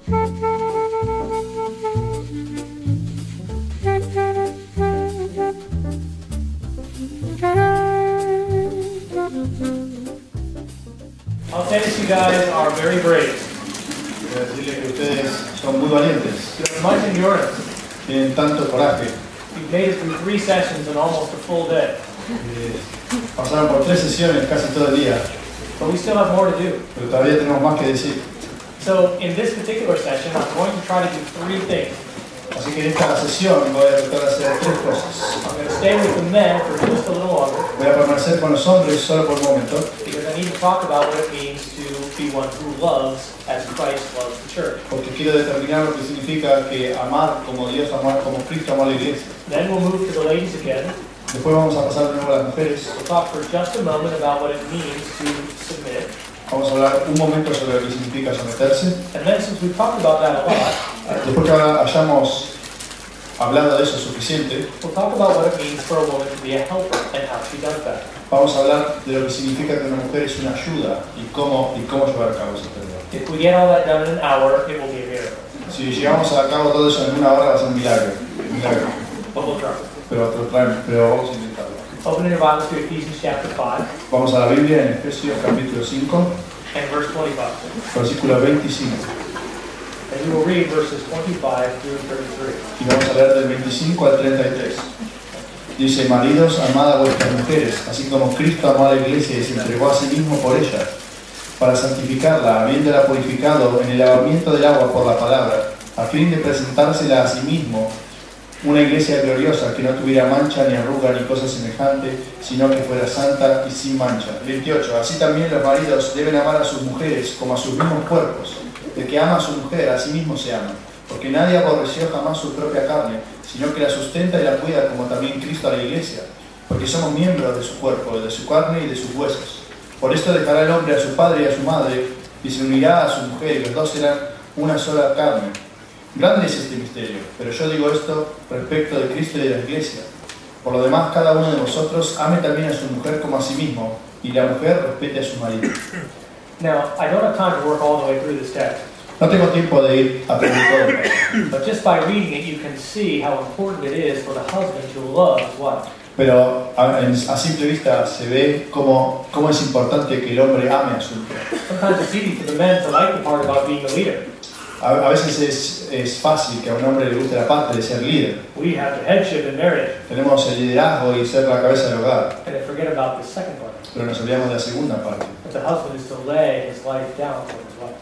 I'll say that you guys are very brave. Quiero decirles que ustedes son muy valientes, You have much endurance. tienen tanto coraje. You've made it through 3 sessions in almost a full day. Pasaron por 3 sesiones casi todo el día, But we still have more to do. pero todavía tenemos más que decir. So in this particular session, I'm going to try to do 3 things. Así que en esta sesión voy a tratar de hacer 3 cosas. I'm going to stay with the men for just a little longer Voy a permanecer con los hombres solo por un momento, because I need to talk about what it means to be one who loves as Christ loves the church. porque quiero determinar lo que significa que amar como Dios, amar como Cristo amó a la iglesia. Then we'll move to the ladies again. Después vamos a pasar de nuevo a las mujeres. We'll talk for just a moment about what it means to submit. Vamos a hablar un momento sobre lo que significa someterse. And then since we've talked about that a lot, Después que hayamos hablado de eso suficiente, we'll talk about what it means for a woman to be a helper and how she does that. vamos a hablar de lo que significa que una mujer es una ayuda y cómo llevar a cabo esa tarea. If we get all that done in an hour, it will be a miracle. Si llevamos a cabo todo eso en una hora va a ser un milagro. But we'll try. Pero vamos a intentarlo. Open your Bibles to Ephesians chapter 5 Vamos a la Biblia en Efesios capítulo 5, and verse 25. versículo 25. And we will read verses 25 through 33. Y vamos a leer del 25 al 33. Dice: maridos, amad a vuestras mujeres, así como Cristo amó a la iglesia y se entregó a sí mismo por ella, para santificarla, habiéndola purificado en el lavamiento del agua por la palabra, a fin de presentársela a sí mismo, una iglesia gloriosa, que no tuviera mancha, ni arruga, ni cosa semejante, sino que fuera santa y sin mancha. 28. Así también los maridos deben amar a sus mujeres como a sus mismos cuerpos. El que ama a su mujer, a sí mismo se ama. Porque nadie aborreció jamás su propia carne, sino que la sustenta y la cuida, como también Cristo a la iglesia. Porque somos miembros de su cuerpo, de su carne y de sus huesos. Por esto dejará el hombre a su padre y a su madre, y se unirá a su mujer, y los dos serán una sola carne. Grande es este misterio, pero yo digo esto respecto de Cristo y de la iglesia. Por lo demás, cada uno de vosotros ame también a su mujer como a sí mismo, y la mujer respete a su marido. Now, I don't have time to work all the way through this text, No tengo tiempo de ir a aprender todo, but just by reading it, you can see how important it is for the husband to love his wife. pero a simple vista se ve cómo es importante que el hombre ame a su mujer. Sometimes it's easy for the men to like the part about being the leader. A veces es fácil que a un hombre le guste la parte de ser líder. We have the headship in marriage, Tenemos el liderazgo y ser la cabeza del hogar, and they forget about the second part. pero nos olvidamos de la segunda parte, That the husband is to lay his life down for his wife.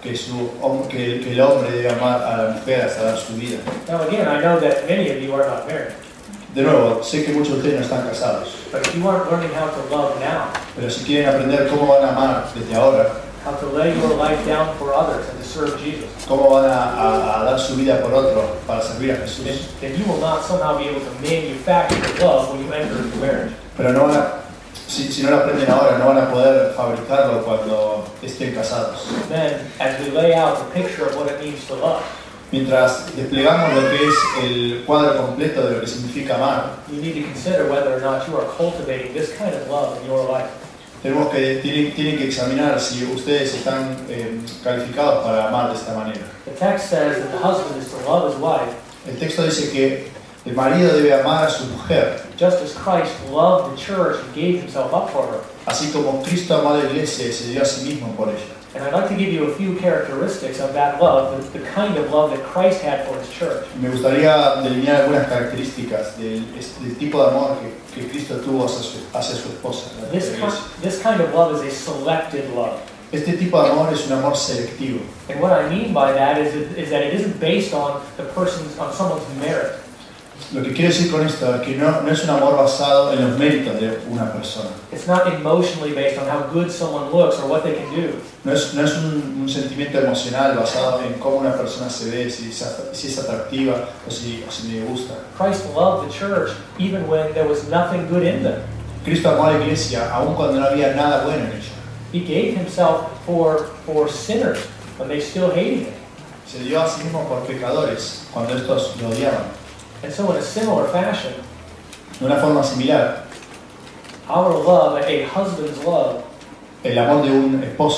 que el hombre debe amar a la mujer hasta dar su vida. Now again, I know that many of you are not married, De nuevo, sé que muchos de ustedes no están casados, but if you aren't learning how to love now, pero si quieren aprender cómo van a amar desde ahora, how to lay your life down for others and to serve Jesus, cómo van a dar su vida por otro para servir a Jesús, then you will not somehow be able to manufacture love when you enter into marriage. pero no van a, si no lo aprenden ahora, no van a poder fabricarlo cuando estén casados. Then, as we lay out the picture of what it means to love, Mientras desplegamos lo que es el cuadro completo de lo que significa amar, you need to consider whether or not you are cultivating this kind of love in your life. tienen que examinar si ustedes están calificados para amar de esta manera. The text says that the husband is to love his wife El texto dice que el marido debe amar a su mujer, just as Christ loved the church and gave himself up for her. así como Cristo amó a la iglesia y se dio a sí mismo por ella. And I'd like to give you a few characteristics of that love, the kind of love that Christ had for his church. Me gustaría delinear algunas características del tipo de amor que Cristo tuvo hacia su esposa. la iglesia. This kind of love is a selected love. Este tipo de amor es un amor selectivo. And what I mean by that is that it isn't based on someone's merit. Lo que quiero decir con esto es que no es un amor basado en los méritos de una persona. It's not emotionally based on how good someone looks or what they can do. No es un sentimiento emocional basado en cómo una persona se ve, si es atractiva o si le gusta. Christ loved the church even when there was nothing good in them. Cristo amó a la iglesia aun cuando no había nada bueno en ella. He gave himself for sinners when they still hated him. Se dio a sí mismo por pecadores cuando estos lo odiaban. And so in a similar fashion, De una forma similar, our love, a husband's love, el amor de un esposo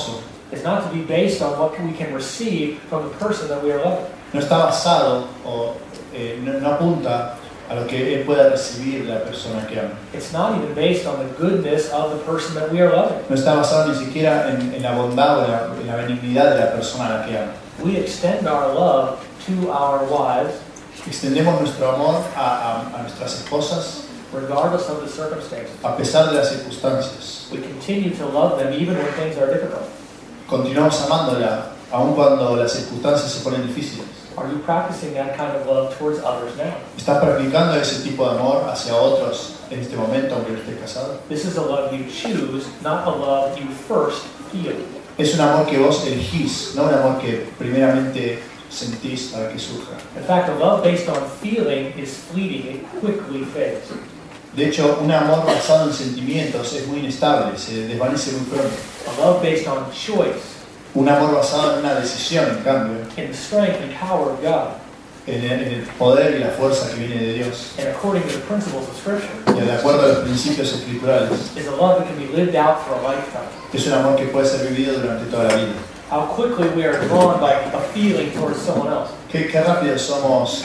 is not to be based on what we can receive from the person that we are loving. No está basado o no apunta a lo que él pueda recibir de la persona que ama. It's not even based on the goodness of the person that we are loving. No está basado ni siquiera en la bondad o en la benignidad de la persona a la que ama. We extend our love to our wives Extendemos nuestro amor a nuestras esposas regardless of the circumstances. a pesar de las circunstancias. We continue to love them even when things are difficult. Continuamos amándola aun cuando las circunstancias se ponen difíciles. Are you practicing that kind of love towards others now? ¿Estás practicando ese tipo de amor hacia otros en este momento aunque no estés casado? This is a love you choose, not a love you first feel. Es un amor que vos elegís, no un amor que primeramente sentís para que surja. In fact, a love based on feeling is fleeting. It quickly fades. De hecho, un amor basado en sentimientos es muy inestable, se desvanece muy pronto. A love based on choice, Un amor basado en una decisión, en cambio, in the strength and power of God, en el poder y la fuerza que viene de Dios, and according to the principles of Scripture, y de acuerdo a los principios escriturales, is a love that can be lived out for a lifetime. es un amor que puede ser vivido durante toda la vida. How quickly we are drawn by a feeling towards someone else. Qué rápido somos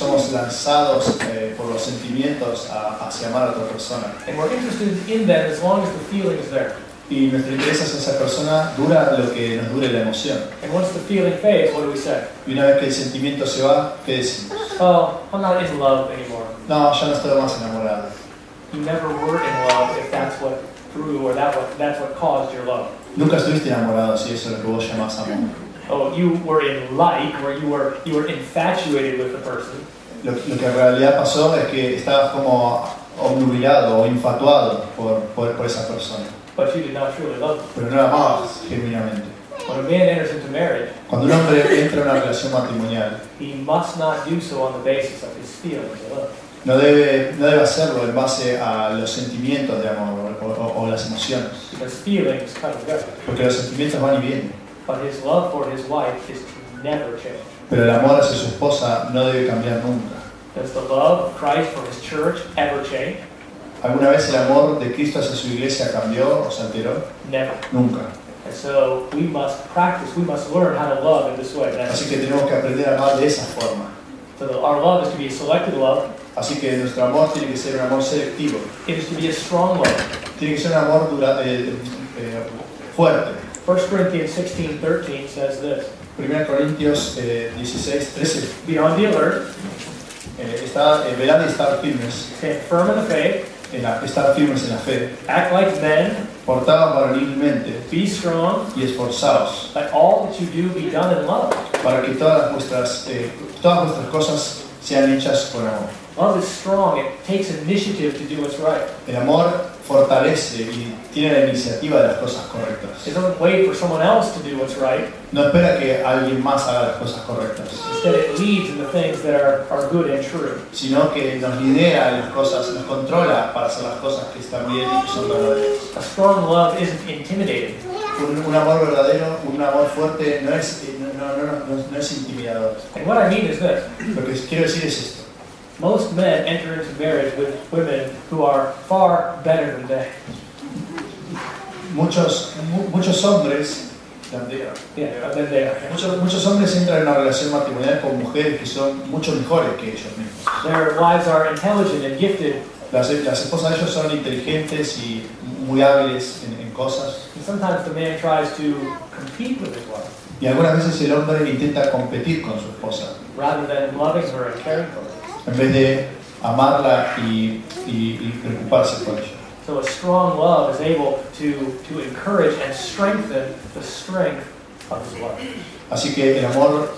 lanzados por los sentimientos hacia amar a otra persona. And we're interested in them as long as the feeling is there. Y nuestro interés hacia esa persona dura lo que nos dure la emoción. And once the feeling fades, what do we say? Y una vez que el sentimiento se va, ¿qué decimos? Oh, I'm not in love anymore. No, ya no estoy más enamorado. You never were in love if that's what drew or that's what caused your love. Nunca estuviste enamorado si eso es lo que vos llamás amor. Oh, you were in like, where you were infatuated with the person. Lo que en realidad pasó es que estabas como obnubilado o infatuado por esa persona. But you did not truly love them. Pero no la amabas genuinamente. When a man enters into marriage, Cuando un hombre entra en una relación matrimonial, he must not do so on the basis of his feelings of love. no debe hacerlo en base a los sentimientos de amor o las emociones. Because feelings come and go. Porque los sentimientos van y vienen. But his love for his wife is to never change. Pero el amor hacia su esposa no debe cambiar nunca. Does the love of Christ for his church ever change? ¿Alguna vez el amor de Cristo hacia su iglesia cambió o se alteró? Never. Nunca. And so we must practice, we must learn how to love in this way. Así que tenemos que aprender a amar de esa forma. So our love is to be a selected love. Así que nuestro amor tiene que ser un amor selectivo. It is to be a strong love. Tiene que ser un amor fuerte. 1 Corinthians 16:13 says this. 1 Corintios 16:13 Be on the alert, velad y estar firmes, stand firm in the faith, estar firmes en la fe, act like men, portaos varonilmente be strong, y esforzaos, let all that you do be done in love. para que todas vuestras cosas sean hechas con amor. Love is strong, it takes initiative to do what's right. El amor fortalece y tiene la iniciativa de las cosas correctas. It doesn't wait for someone else to do what's right. No espera que alguien más haga las cosas correctas, Instead, it leads in the things that are good and true. sino que nos lidera en las cosas, nos controla para hacer las cosas que están bien y que son verdaderas. A strong love isn't intimidating. Un amor verdadero, un amor fuerte no es intimidador. And what I mean is this. Lo que quiero decir es esto. Most men enter into marriage with women who are far better than they. Muchos hombres, Yeah, than they are. muchos hombres entran en una relación matrimonial con mujeres que son mucho mejores que ellos mismos. Their wives are intelligent and gifted. Las esposas de ellos son inteligentes y muy hábiles en cosas. And sometimes the man tries to compete with his wife Y algunas veces el hombre intenta competir con su esposa, rather than loving her and caring for her. en vez de amarla y preocuparse por ella. So a strong love is able to encourage and strengthen the strength of his wife. Así que el amor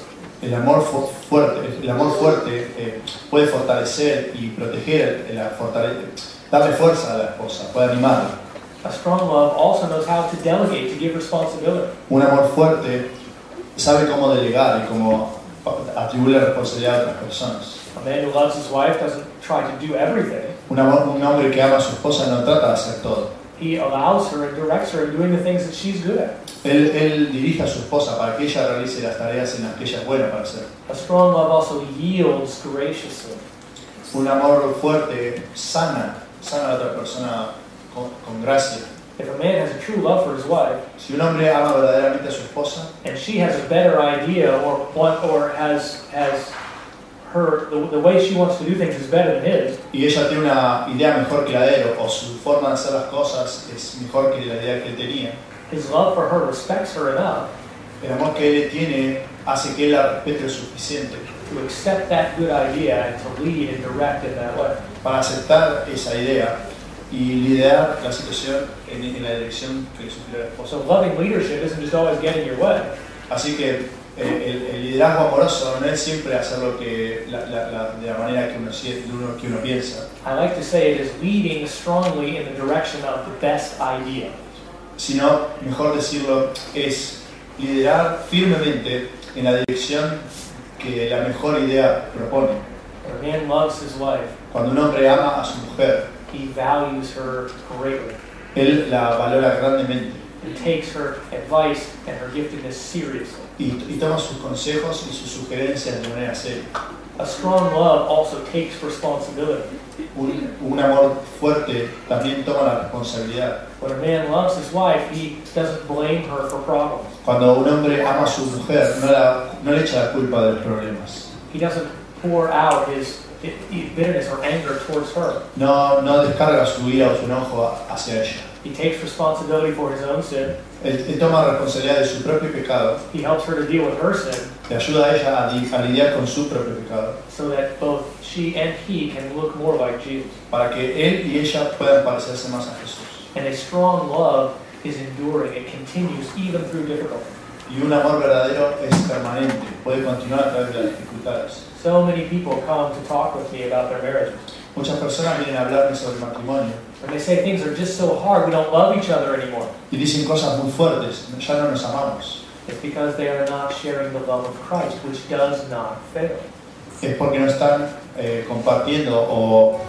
fuerte puede fortalecer y proteger, darle fuerza a la esposa, puede animarla. A strong love also knows how to delegate, to give responsibility. Un amor fuerte sabe cómo delegar y cómo atribuir la responsabilidad a otras personas. A man who loves his wife doesn't try to do everything. Un hombre que ama a su esposa no trata de hacer todo. He allows her and directs her in doing the things that she's good at. Él dirige a su esposa para que ella realice las tareas en las que ella es buena para hacer. A strong love also yields graciously. Un amor fuerte sana a la otra persona con gracia. If a man has a true love for his wife, si un hombre ama verdaderamente a su esposa, and she has a better idea or has her the way she wants to do things is better than his, y ella tiene una idea mejor que la de él, o su forma de hacer las cosas es mejor que la idea que él tenía, his love for her respects her enough el amor que él tiene hace que él la respete lo suficiente to accept that good idea and to lead and direct in that way. para aceptar esa idea y liderar la situación en la dirección que le sugiere la esposa. So loving leadership isn't just always getting your way. Así que el liderazgo amoroso no es siempre hacer lo que de la manera que uno piensa, I like to say it is leading strongly in the direction of the best idea. sino, mejor decirlo, es liderar firmemente en la dirección que la mejor idea propone. When a man loves his wife, Cuando un hombre ama a su mujer, he values her greatly. él la valora grandemente He takes her advice and her giftedness seriously. y toma sus consejos y sus sugerencias de manera seria. A strong love also takes responsibility. Un amor fuerte también toma la responsabilidad. When a man loves his wife, he doesn't blame her for problems. Cuando un hombre ama a su mujer, no le echa la culpa de los problemas. He doesn't pour out his bitterness or anger towards her. No descarga su ira o su enojo hacia ella. He takes responsibility for his own sin. Él toma responsabilidad de su propio pecado, He helps her to deal with her sin le ayuda a ella a lidiar con su propio pecado, so that both she and he can look more like Jesus. para que él y ella puedan parecerse más a Jesús. And a strong love is enduring. It continues even through difficulty. Y un amor verdadero es permanente, puede continuar a través de las dificultades. So many people come to talk with me about their marriages. Muchas personas vienen a hablarme sobre el matrimonio And they say things are just so hard, we don't love each other anymore. y dicen cosas muy fuertes, ya no nos amamos. It's because they are not sharing the love of Christ, which does not fail. Es porque no están compartiendo o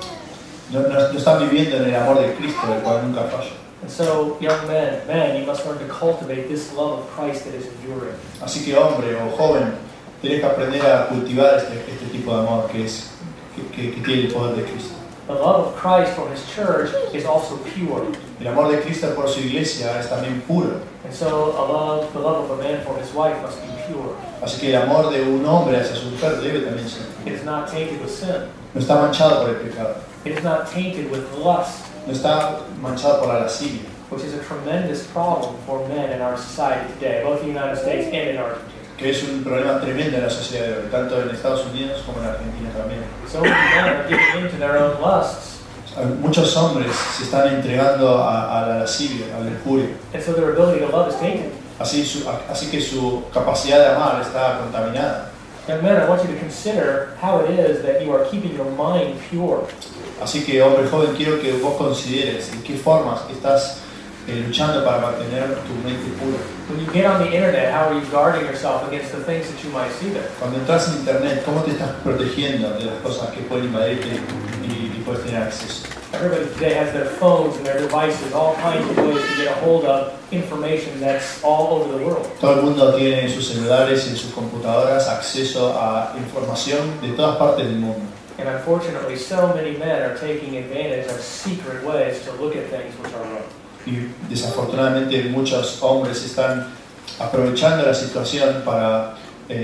no están viviendo en el amor de Cristo, el cual nunca falla. And so, young men, you must learn to cultivate this love of Christ that is enduring. Así que hombre o joven, tienes que aprender a cultivar este tipo de amor que tiene el poder de Cristo. The love of Christ for His church is also pure. El amor de Cristo por su iglesia es también puro. And so the love of a man for his wife must be pure. Así que el amor de un hombre hacia su mujer debe también ser. It is not tainted with sin. No está manchado por el pecado. It is not tainted with lust, No está manchado por la lascivia, which is a tremendous problem for men in our society today, both in the United States and in Argentina. que es un problema tremendo en la sociedad de hoy, tanto en Estados Unidos como en Argentina también. So many men are giving in to their own lusts, Muchos hombres se están entregando a la lascivia, al lujuria. and so their ability to love is tainted. Así que su capacidad de amar está contaminada. Young men, I want you to consider how it is that you are keeping your mind pure. Así que, hombre joven, quiero que vos consideres en qué formas estás luchando para mantener tu mente pura. When you get on the internet, how are you guarding yourself against the things that you might see there? Cuando entras en internet, ¿cómo te estás protegiendo de las cosas que pueden invadirte y puedes tener acceso? Everybody today has their phones and their devices, all kinds of ways to get a hold of information that's all over the world. Todo el mundo tiene en sus celulares y en sus computadoras acceso a información de todas partes del mundo. And unfortunately, so many men are taking advantage of secret ways to look at things which are wrong. Y desafortunadamente muchos hombres están aprovechando la situación para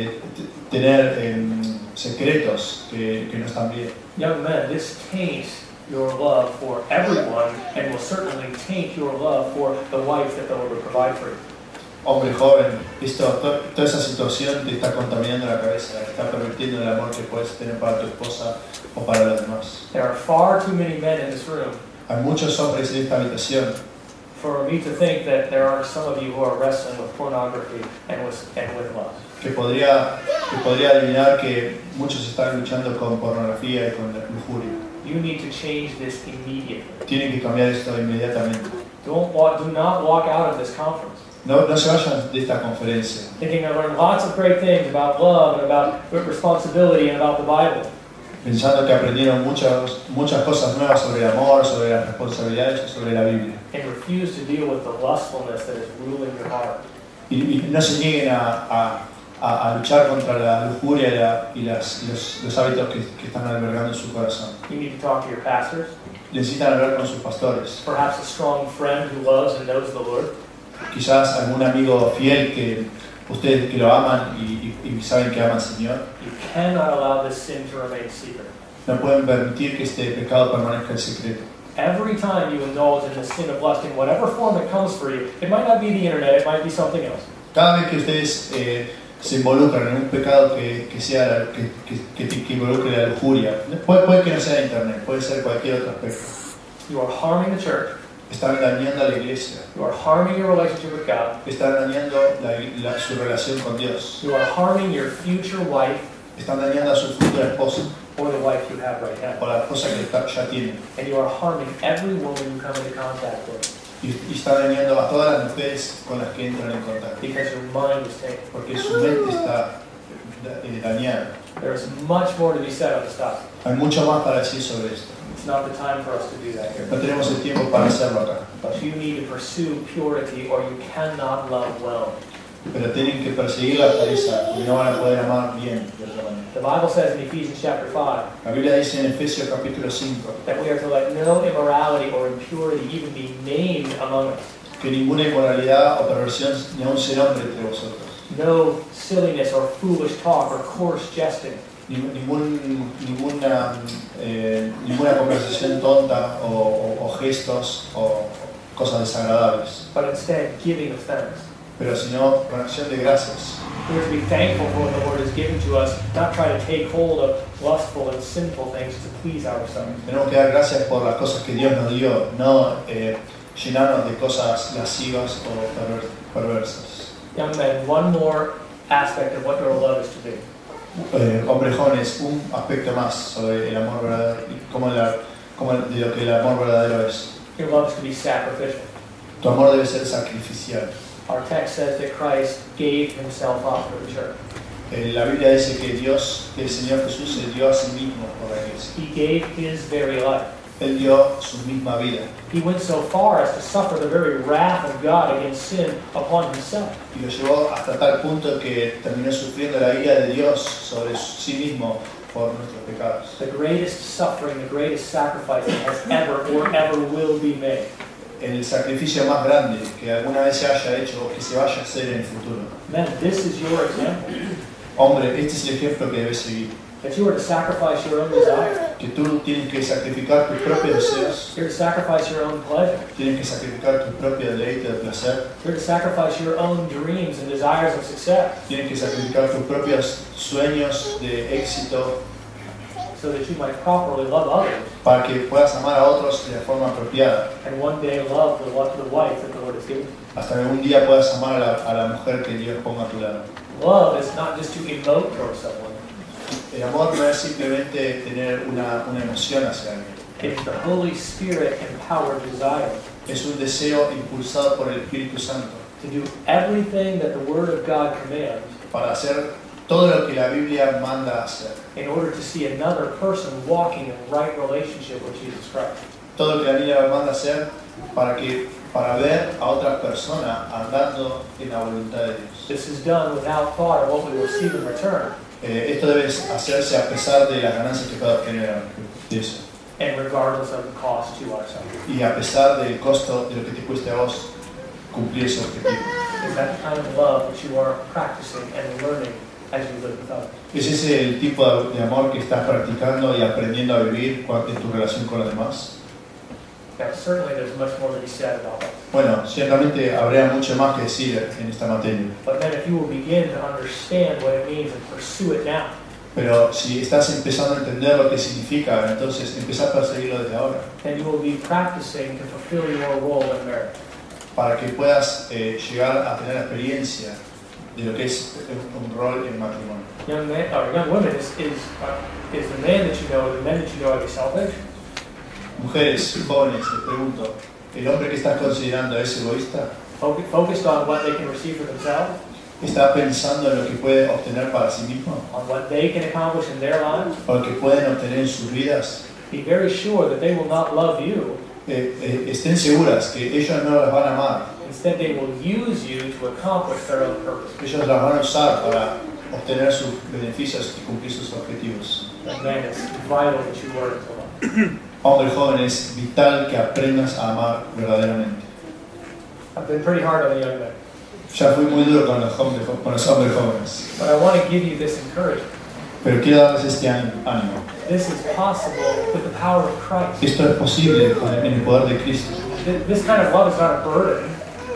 tener secretos que no están bien. Young men, this taints your love for everyone and will certainly taint your love for the wife that the Lord will provide for you. Hombre joven, toda esa situación te está contaminando la cabeza, te está permitiendo el amor que puedes tener para tu esposa o para los demás. There are far too many men in this room Hay muchos hombres en esta habitación for me to think that there are some of you who are wrestling with pornography and with lust. que podría adivinar que muchos están luchando con pornografía y con la lujuria. You need to change this immediately. Tienen que cambiar esto inmediatamente. Do not walk out of this conference No se vayan de esta conferencia thinking I learned lots of great things about love and about responsibility and about the Bible. pensando que aprendieron muchas cosas nuevas sobre el amor, sobre las responsabilidades y sobre la Biblia. And refuse to deal with the lustfulness that is ruling your heart. Y no se nieguen a a luchar contra la lujuria y los hábitos que están albergando en su corazón. You need to talk to your pastors, Necesitan hablar con sus pastores. perhaps a strong friend who loves and knows the Lord. Quizás algún amigo fiel que ustedes que lo aman y saben que aman al Señor. You cannot allow this sin to remain secret. No pueden permitir que este pecado permanezca en secreto. Every time you indulge in the sin of lust in whatever form it comes for you, it might not be the internet, it might be something else. Cada vez que ustedes se involucran en un pecado que involucre la lujuria, puede que no sea internet, puede ser cualquier otro aspecto. You are harming the church. Están dañando a la iglesia. You are harming your relationship with God. Están dañando su relación con Dios. You are harming your future wife Están dañando a su futura esposa or the wife you have right now. o la esposa que ya tienen. And you are harming every woman you come into contact with Y están dañando a todas las mujeres con las que entran en contacto. because your mind is taken. Porque su mente está dañada. There is much more to be said on this topic. Hay mucho más para decir sobre esto. It's not the time for us to do that here. No tenemos el tiempo para hacerlo acá. But you need to pursue purity or you cannot love well. Pero tienen que perseguir la pureza porque no van a poder amar bien de otra manera. The Bible says in Ephesians chapter 5 La Biblia dice en Efesios capítulo 5 that we are to let no immorality or impurity even be named among us. que ninguna inmoralidad o perversión ni aun se nombre entre vosotros. No silliness or foolish talk or coarse jesting. Ninguna conversación tonta o gestos o cosas desagradables, But instead giving of thanks. pero sino con acción de gracias. We are to be thankful for what the Lord has given to us, not try to take hold of lustful and sinful things to please ourselves. Tenemos que dar gracias por las cosas que Dios nos dio, no llenarnos de cosas lascivas o perversas. Young men, one more aspect of what your love is to be. Hombres jóvenes, un aspecto más sobre el amor verdadero y de lo que el amor verdadero es. Your love is to be sacrificial. Tu amor debe ser sacrificial. Our text says that Christ gave himself up for the church. La Biblia dice que el Señor Jesús se dio a sí mismo por la iglesia. He gave his very life. Él dio su misma vida He went so far as to suffer the very wrath of God against sin upon himself. y lo llevó hasta tal punto que terminó sufriendo la ira de Dios sobre sí mismo por nuestros pecados. The greatest suffering, the greatest sacrifice that has ever or ever will be made. El sacrificio más grande que alguna vez se haya hecho o que se vaya a hacer en el futuro. Men, this is your example. Hombre, este es el ejemplo que debes seguir. That you are to sacrifice your own desire. Que tú tienes que sacrificar tus propios deseos, You're to sacrifice your own pleasure. tienes que sacrificar tu propio deleite de placer, You're to sacrifice your own dreams and desires of success tienes que sacrificar tus propios sueños de éxito so that you might properly love others para que puedas amar a otros de la forma apropiada, and one day love the wife that the Lord has given you. hasta que un día puedas amar a la mujer que Dios ponga a tu lado. Love is not just to emote towards someone. El amor no es simplemente tener una emoción hacia alguien, It's the Holy Spirit empowered desire es un deseo impulsado por el Espíritu Santo to do everything that the Word of God commands para hacer todo lo que la Biblia manda hacer, in order to see another person walking in right relationship with Jesus Christ. todo lo que la Biblia manda hacer para ver a otra persona andando en la voluntad de Dios. This is done without thought of what we will receive in return Esto debe hacerse a pesar de las ganancias que pueda obtener de eso and regardless of the cost to ourselves. y a pesar del costo de lo que te cueste a vos cumplir ese objetivo. Is that the kind of love that you are practicing and learning as you live with others? ¿Es ese el tipo de amor que estás practicando y aprendiendo a vivir en tu relación con los demás? Now, certainly there's much more to be said about that. Bueno, ciertamente habría mucho más que decir en esta materia, But then if you will begin to understand what it means and pursue it now, pero si estás empezando a entender lo que significa, entonces empezá a perseguirlo desde ahora, then you will be practicing to fulfill your role in marriage. para que puedas llegar a tener la experiencia de lo que es un rol en matrimonio. Young men or young women, is the man that you know, the men that you know, are they selfish? Mujeres, jóvenes, les pregunto, ¿el hombre que estás considerando es egoísta? Focused on what they can receive for themselves, ¿Está pensando en lo que puede obtener para sí mismo? on what they can accomplish in their lives? ¿O lo que pueden obtener en sus vidas? Be very sure that they will not love you. Estén seguras que ellos no las van a amar. Instead, they will use you to accomplish their own purpose. Ellos las van a usar obtener sus beneficios y cumplir sus objetivos. Young man, it's vital that you learn to love. Hombre joven, es vital que aprendas a amar verdaderamente. I've been pretty hard on the young men, Ya fui muy duro con los hombres jóvenes, but I want to give you this encouragement. pero quiero darles este ánimo. This is possible with the power of Christ. Esto es posible en el poder de Cristo. This kind of love is not a burden.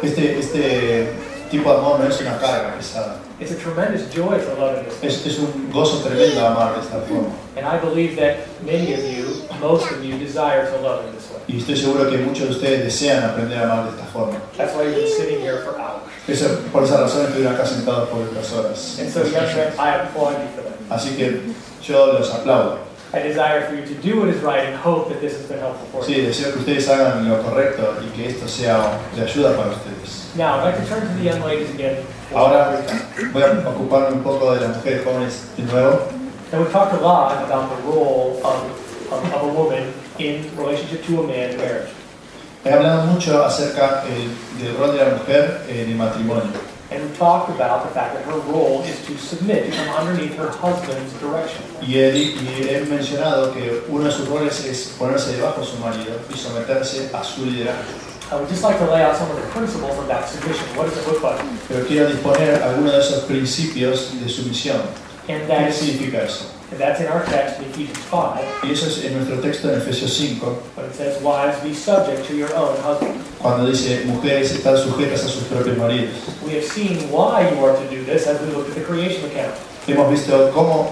Este tipo de amor no es una carga pesada. It's a tremendous joy to love in this way. Es un gozo tremendo amar de esta forma. And I believe that many of you, most of you, desire to love in this way. Y estoy seguro que muchos de ustedes desean aprender a amar de esta forma. That's why you've been sitting here for hours. Por esa razón estuvieron acá sentados por otras horas. And so, young men, I applaud you for that. Así que yo los aplaudo. I desire for you to do what is right and hope that this has been helpful for Sí, you. deseo que ustedes hagan lo correcto y que esto sea de ayuda para ustedes. Now, I'd like to turn to the young ladies again. Ahora voy a ocuparme un poco de las mujeres jóvenes de nuevo. And we've talked a lot about the role of a woman in relationship to a man in marriage. He hablado mucho acerca del rol de la mujer en el matrimonio. And we talked about the fact that her role is to submit, to come underneath her husband's direction. Y he mencionado que uno de sus roles es ponerse debajo de su marido y someterse a su liderazgo. I would just like to lay out some of the principles of that submission. What does it look like? Pero quiero disponer algunos de esos principios de sumisión. And ¿Qué that's, significa eso? and that's in our text in Ephesians 5, Y eso es en nuestro texto en Efesios 5, but it says, wives, be subject to your own husband. cuando dice mujeres están sujetas a sus propios maridos. We have seen why you are to do this as we looked at the creation account. Hemos visto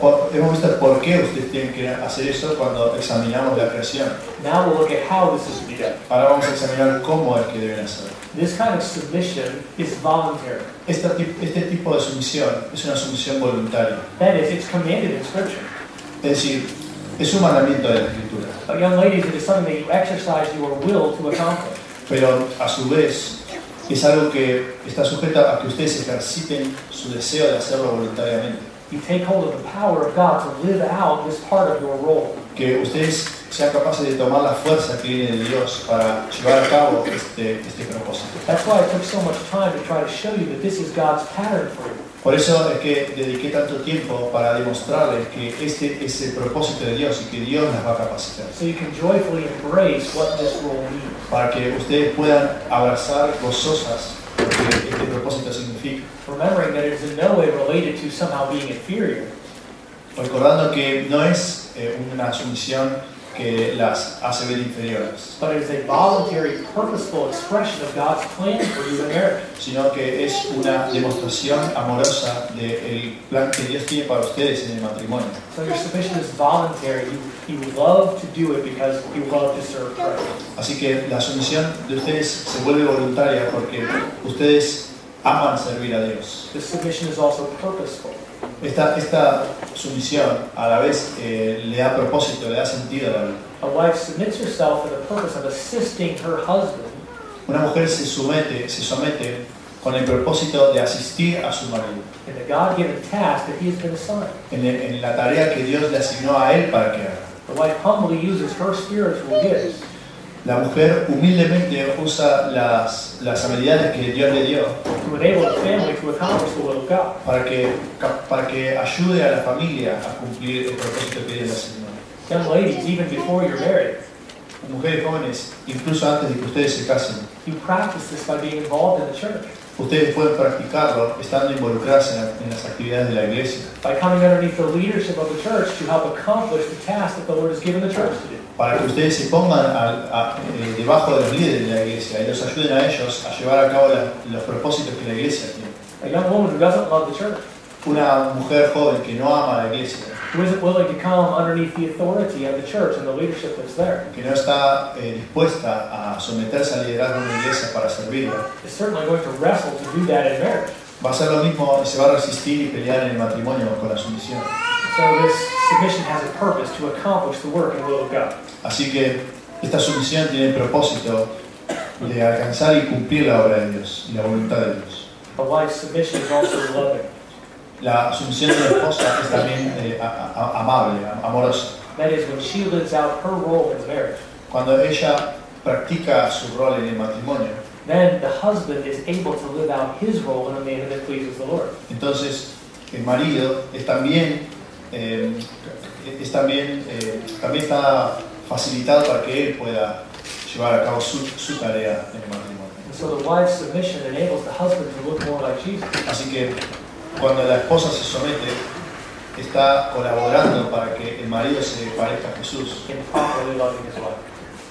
por qué ustedes tienen que hacer eso cuando examinamos la creación. Now we'll look at how this is to be done. Ahora vamos a examinar cómo es que deben hacer. This kind of submission is voluntary. Este tipo de sumisión es una sumisión voluntaria. That is, it's commanded in Scripture. Es decir, es un mandamiento de la Escritura. But young ladies, it is something that you exercise your will to accomplish. Pero a su vez es algo que está sujeto a que ustedes ejerciten su deseo de hacerlo voluntariamente. You take hold of the power of God to live out this part of your role. Que ustedes sean capaces de tomar la fuerza que viene de Dios para llevar a cabo este propósito. That's why it took so much time to try to show you that this is God's pattern for you. Por eso es que dediqué tanto tiempo para demostrarles que este es el propósito de Dios y que Dios las va a capacitar. So you can joyfully embrace what this role means. Para que ustedes puedan abrazar gozosas lo que este propósito significa. Remembering that it is in no way related to somehow being inferior. Recordando que no es una sumisión que las hace ver inferiores, But it is a voluntary, purposeful expression of God's plan for you in marriage. sino que es una demostración amorosa del plan que Dios tiene para ustedes en el matrimonio. So your submission is voluntary. You love to do it because you love to serve Christ. Así que la sumisión de ustedes se vuelve voluntaria porque ustedes aman servir a Dios. The submission is also purposeful. Esta sumisión a la vez le da propósito, le da sentido a la vida. A wife submits herself for the purpose of assisting her husband Una mujer se somete con el propósito de asistir a su marido in the God-given task that he has been assigned. en la tarea que Dios le asignó a él para que haga. The wife humbly uses her spiritual gifts La mujer humildemente usa las habilidades que Dios le dio to enable the family to accomplish the will of God. para que ayude a la familia a cumplir el propósito que Dios le asignó. Young ladies, even before you're married, Mujeres jóvenes, incluso antes de que ustedes se casen, you practice this by being involved in the church, ustedes pueden practicarlo estando involucradas en las actividades de la iglesia, by coming underneath the leadership of the church to help accomplish the task that the Lord has given the church to do. para que ustedes se pongan debajo de los líderes de la iglesia y los ayuden a ellos a llevar a cabo los propósitos que la iglesia tiene. A young woman who doesn't love the church, Una mujer joven que no ama a la iglesia, who isn't willing to come underneath the authority of the church and the leadership that's there, que no está dispuesta a someterse al liderazgo de una iglesia para servirla, is certainly going to wrestle to do that in marriage. va a hacer lo mismo y se va a resistir y pelear en el matrimonio con la sumisión. So this submission has a purpose to accomplish the work and will of God. Así que esta sumisión tiene el propósito de alcanzar y cumplir la obra de Dios y la voluntad de Dios. A wife's submission is also loving. La sumisión de la esposa es también amable, amorosa. That is, when she lives out her role in marriage, Cuando ella practica su rol en el matrimonio, then the husband is able to live out his role in a manner that pleases the Lord. entonces el marido también está facilitado para que él pueda llevar a cabo su tarea en el matrimonio. And so the wife's submission enables the husband to look more like Jesus. Así que cuando la esposa se somete, está colaborando para que el marido se parezca a Jesús In properly loving his wife.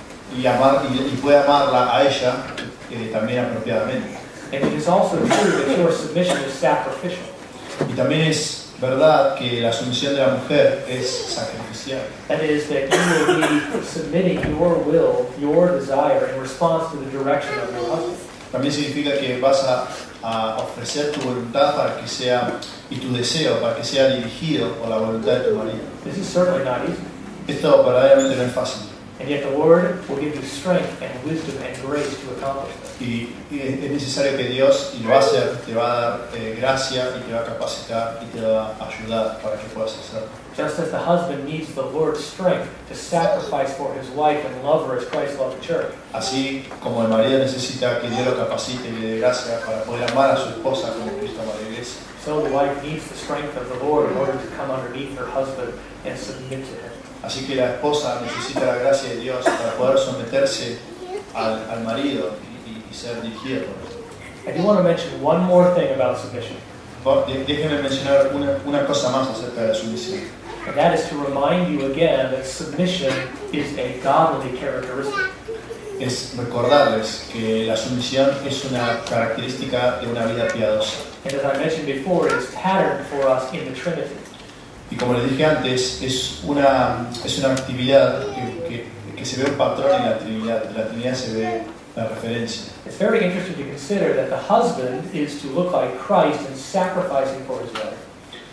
y pueda amarla a ella también apropiadamente. And it is also true that your submission is sacrificial. Y también es verdad que la sumisión de la mujer es sacrificial. That is, that you will be submitting your will, your desire, in response to the direction of your husband. También significa que vas a ofrecer tu voluntad para que sea, y tu deseo para que sea dirigido por la voluntad de tu marido. This is certainly not easy. Esto verdaderamente no es fácil. And yet the Lord will give you strength and wisdom and grace to accomplish this. Y es necesario que Dios, y lo va a hacer, te va a dar gracia y te va a capacitar y te va a ayudar para que puedas hacerlo. Just as the husband needs the Lord's strength to sacrifice for his wife and love her as Christ loved the church, Así como el marido necesita que Dios lo capacite y le dé gracia para poder amar a su esposa como Cristo ama a la iglesia, so the wife needs the strength of the Lord in order to come underneath her husband and submit to him. así que la esposa necesita la gracia de Dios para poder someterse al marido y ser dirigida por él. I do want to mention one more thing about submission, Déjenme mencionar una cosa más acerca de la sumisión. and that is to remind you again that submission is a godly characteristic. Es recordarles que la sumisión es una característica de una vida piadosa. And as I mentioned before, it is patterned for us in the Trinity. Y como les dije antes, es una actividad que se ve un patrón en la Trinidad. En la Trinidad se ve la referencia. It's very interesting to consider that the husband is to look like Christ in sacrificing for his wife.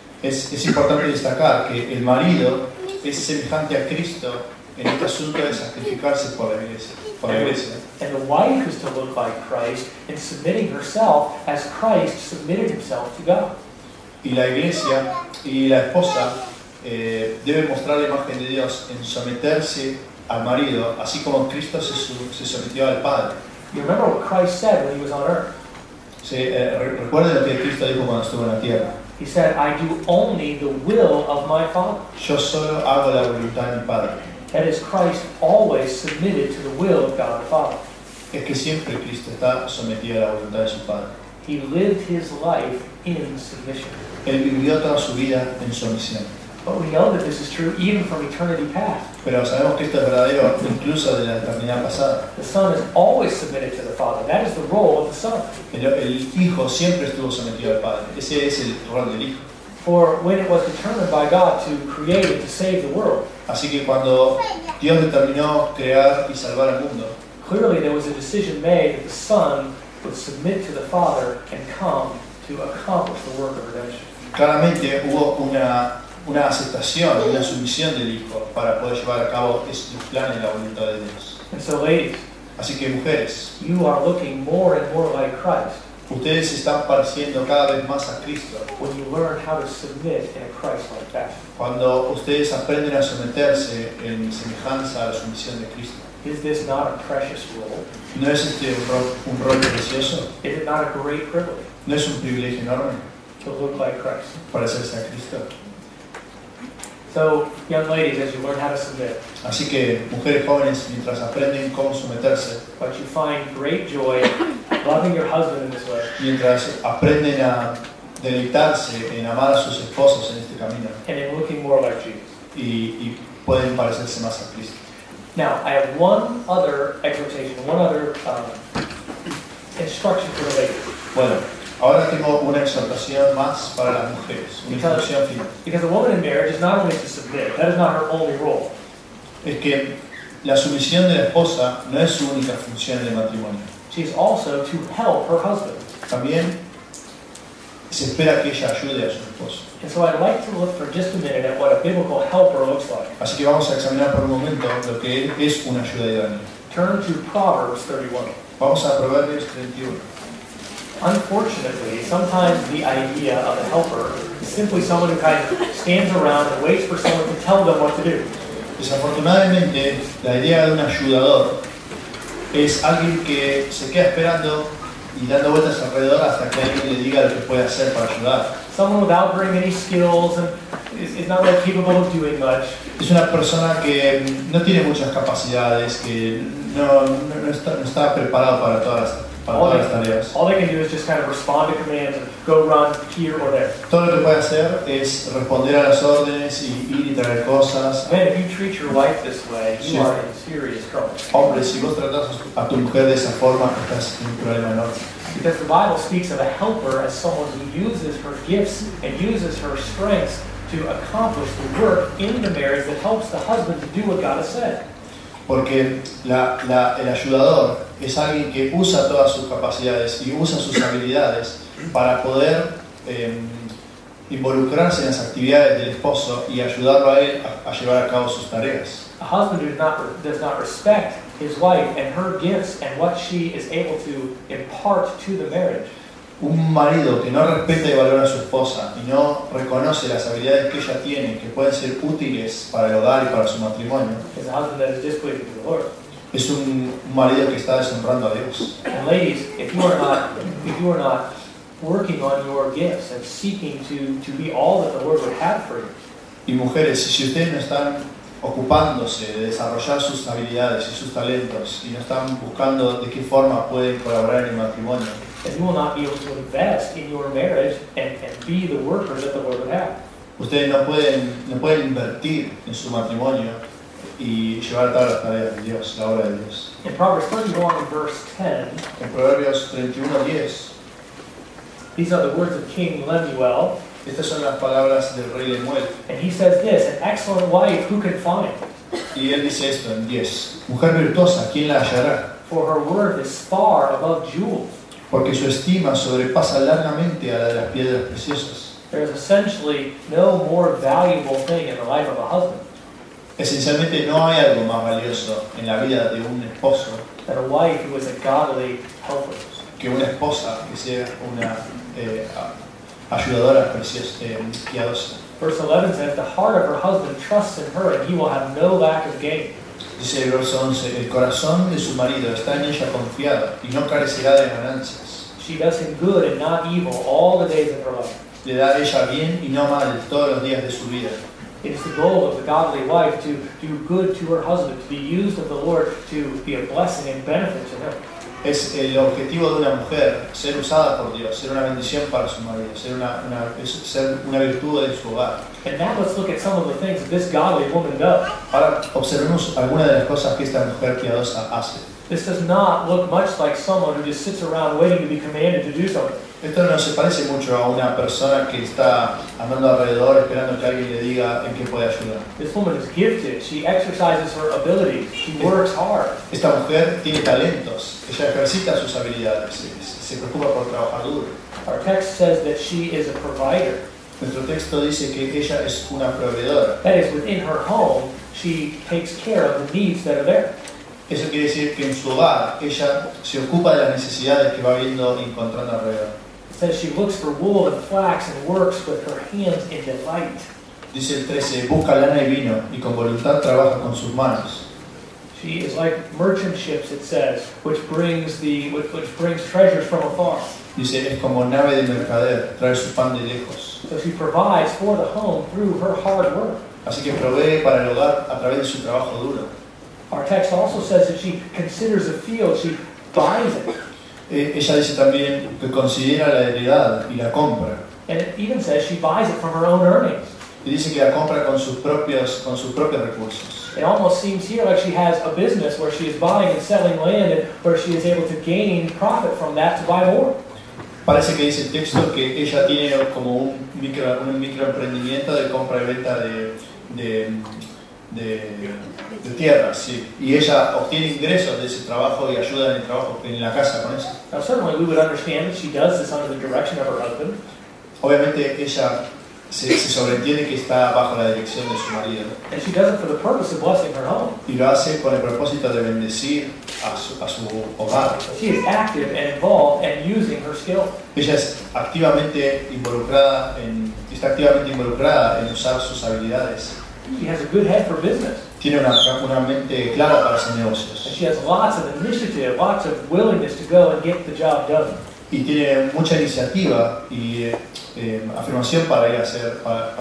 Es importante destacar que el marido es semejante a Cristo en este asunto de sacrificarse por la iglesia. And the wife is to look like Christ in submitting herself as Christ submitted himself to God. Y la iglesia y la esposa deben mostrar la imagen de Dios en someterse al marido, así como Cristo se sometió al Padre. You remember what Christ said when he was on earth? Recuerden lo que Cristo dijo cuando estuvo en la tierra. He said, I do only the will of my Father. Yo solo hago la voluntad de mi Padre. That is, Christ always submitted to the will of God the Father. Es que siempre Cristo está sometido a la voluntad de su Padre. He lived his life in submission. Él vivió toda su vida en sumisión. But we know that this is true even from eternity past. Pero sabemos que esto es verdadero incluso de la eternidad pasada. The Son is always submitted to the Father. That is the role of the Son. El Hijo siempre estuvo sometido al Padre. Ese es el rol del Hijo. For when it was determined by God to create and to save the world, Así que cuando Dios determinó crear y salvar al mundo, clearly there was a decision made that the Son would submit to the Father and come to accomplish the work of redemption. claramente hubo una aceptación, una sumisión del Hijo para poder llevar a cabo los planes y la voluntad de Dios. And so, ladies, Así que mujeres, you are looking more and more like Christ ustedes se están pareciendo cada vez más a Cristo when you learn how to submit in a Christ-like fashion. cuando ustedes aprenden a someterse en semejanza a la sumisión de Cristo. Is this not a precious role? ¿No es este un rol precioso? Is it not a great privilege ¿No es un privilegio enorme to look like Christ? parecerse a Cristo? So, young ladies, as you learn how to submit, Así que, mujeres jóvenes, mientras aprenden cómo someterse, but you find great joy loving your husband in this way, mientras aprenden a deleitarse en amar a sus esposos en este camino and in looking more like Jesus. y pueden parecerse más a Cristo. Now, I have one other exhortation, one other instruction for the ladies. Bueno, ahora tengo una exhortación más para las mujeres, una instrucción final. Because a woman in marriage is not only to submit, that is not her only role. Es que la sumisión de la esposa no es su única función en el matrimonio. She is also to help her husband. También se espera que ella ayude a su esposo. And so I'd like to look for just a minute at what a biblical helper looks like. Así que vamos a examinar por un momento lo que es una ayuda idónea. Turn to Proverbs 31. Vamos a Proverbios 31. Unfortunately, sometimes the idea of a helper is simply someone who kind of stands around and waits for someone to tell them what to do. Desafortunadamente, la idea de un ayudador es alguien que se queda esperando y dando vueltas alrededor hasta que alguien le diga lo que puede hacer para ayudar. someone without very many skills and is not really capable of doing much. Es una persona que no tiene muchas capacidades, que no está preparado para todas las tareas. All they can do is just kind of respond to commands and go run here or there. Todo lo que puede hacer es responder a las órdenes y ir y traer cosas. Man, if you treat your wife this way, you are in serious trouble. Hombre, si vos tratás a tu mujer de esa forma, estás en un problema enorme. Because the Bible speaks of a helper as someone who uses her gifts and uses her strengths to accomplish the work in the marriage that helps the husband to do what God has said. Porque el ayudador es alguien que usa todas sus capacidades y usa sus habilidades para poder involucrarse en las actividades del esposo y ayudarlo a él a llevar a cabo sus tareas. A husband who does not respect his wife and her gifts and what she is able to impart to the marriage. Un marido que no respeta y valora a su esposa y no reconoce las habilidades que ella tiene, que pueden ser útiles para el hogar y para su matrimonio, Is a husband that is displeasing to the Lord. es un marido que está deshonrando a Dios. And ladies, if you are not working on your gifts and seeking to be all that the Lord would have for you, Y mujeres, si ustedes no están ocupándose de desarrollar sus habilidades y sus talentos y no están buscando de qué forma pueden colaborar en el matrimonio, then you will not be able to invest in your marriage and be the worker that the Lord would have. ustedes no pueden invertir en su matrimonio y llevar a cabo las tareas de Dios, la obra de Dios. In Proverbs 31 and verse 10, En Proverbios 31:10, these are the words of King Lemuel, estas son las palabras del rey Lemuel. and he says this, an excellent wife who can find? Y él dice esto en 10. Mujer virtuosa, ¿quién la hallará? For her worth is far above jewels. Porque su estima sobrepasa largamente a la de las piedras preciosas. There is essentially no more valuable thing in the life of a husband Esencialmente no hay algo más valioso en la vida de un esposo than a wife who is a godly helper. que una esposa que sea una ayudadora preciosa, piadosa. Verse 11 says, the heart of her husband trusts in her, and he will have no lack of gain. Dice el verso 11, el corazón de su marido está en ella confiado y no carecerá de ganancias. She does him good and not evil all the days of her life. Le da a ella bien y no mal todos los días de su vida. It is the goal of the godly wife to do good to her husband, to be used of the Lord to be a blessing and benefit to him. Es el objetivo de una mujer, ser usada por Dios, ser una bendición para su marido, ser una virtud en su hogar. And now let's look at some of the things that this godly woman does. Ahora observemos algunas de las cosas que esta mujer piadosa hace. This does not look much like someone who just sits around waiting to be commanded to do something. Esto no se parece mucho a una persona que está andando alrededor esperando que alguien le diga en qué puede ayudar. This woman is gifted. She exercises her abilities. She works hard. Esta mujer tiene talentos, ella ejercita sus habilidades, se preocupa por trabajar duro. Our text says that she is a provider. Nuestro texto dice que ella es una proveedora. That is, within her home, she takes care of the needs that are there. Eso quiere decir que en su hogar ella se ocupa de las necesidades que va viendo y encontrando alrededor. It says she looks for wool and flax and works with her hands in delight. Dice el 13, busca lana y vino y con voluntad trabaja con sus manos. She is like merchant ships, it says, which brings treasures from afar. Dice, es como nave de mercader, trae su pan de lejos. So she provides for the home through her hard work. Así que provee para el hogar a través de su trabajo duro. Our text also says that she considers a field, she buys it. Ella dice también que considera la heredad y la compra. And it even says she buys it from her own earnings. Y dice que la compra con sus propios recursos. It almost seems here like she has a business where she is buying and selling land and where she is able to gain profit from that to buy more. Parece que dice el texto que ella tiene como un microemprendimiento de compra y venta de tierras, sí. Y ella obtiene ingresos de ese trabajo y ayuda en el trabajo, en la casa con eso. Now certainly we would understand that she does this under the direction of her husband. Obviamente ella se sobreentiende que está bajo la dirección de su marido. And she does it for the purpose of blessing her home. Y lo hace con el propósito de bendecir a su hogar. She is active and involved and using her skill. Ella está activamente involucrada en usar sus habilidades. She has a good head for business. Tiene una mente clara para hacer And negocios. she has lots of initiative, lots of willingness to go and get the job done. y tiene mucha iniciativa y afirmación para ir a hacer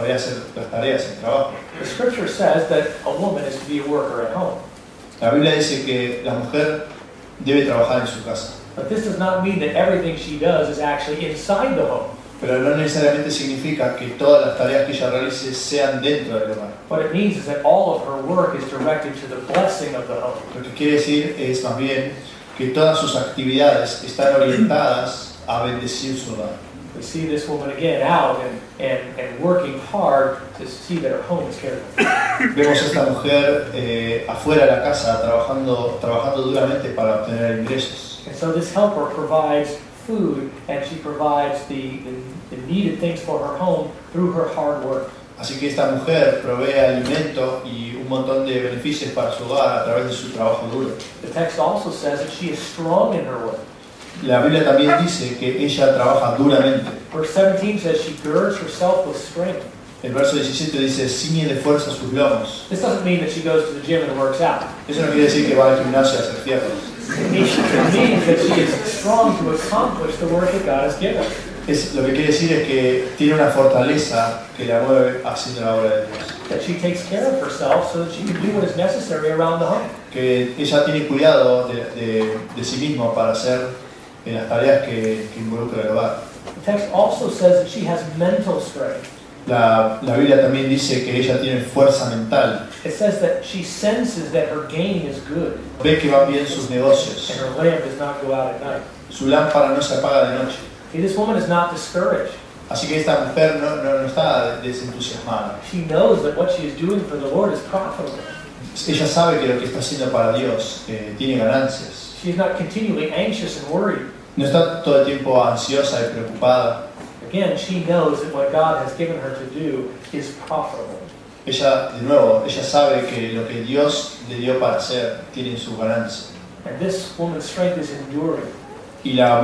las tareas, el trabajo. The scripture says that a woman is to be a worker at home. La Biblia dice que la mujer debe trabajar en su casa, But this does not mean that everything she does is actually inside the home. pero no necesariamente significa que todas las tareas que ella realice sean dentro del hogar. What it means is that all of her work is directed to the blessing of the home. Lo que quiere decir es más bien que todas sus actividades están orientadas a bendecir su hogar. We see this woman again out and working hard to see that her home is cared for. Vemos a esta mujer afuera de la casa trabajando duramente para obtener ingresos. And so this helper provides food and she provides the needed things for her home through her hard work. Así que esta mujer provee alimento y un montón de beneficios para su hogar a través de su trabajo duro. The text also says that she is strong in her work. La Biblia también dice que ella trabaja duramente. Verse 17 says she girds herself with strength. El verso 17 dice, ciñe de fuerza sus lomos. This doesn't mean that she goes to the gym and works out. Eso no quiere decir que va al gimnasio a hacer fierros. It means that she is strong to accomplish the work that God has given her. Lo que quiere decir es que tiene una fortaleza que la mueve haciendo la obra de Dios. That she takes care of herself so that she can do what is necessary around the home. Que ella tiene cuidado de sí misma para hacer las tareas que involucra el hogar. The text also says that she has mental strength. La Biblia también dice que ella tiene fuerza mental. It says that she senses that her gain is good Ve que van bien sus negocios. and her lamp does not go out at night. Su lámpara no se apaga de noche. See, this woman is not discouraged. Así que esta mujer no está desentusiasmada. She knows that what she is doing for the Lord is profitable. Ella sabe que lo que está haciendo para Dios tiene ganancias. She is not continually anxious and worried. No está todo el tiempo ansiosa y preocupada. Again, she knows that what God has given her to do is profitable. Ella, de nuevo, ella sabe que lo que Dios le dio para hacer tiene su ganancia. And this woman's strength is enduring. Y la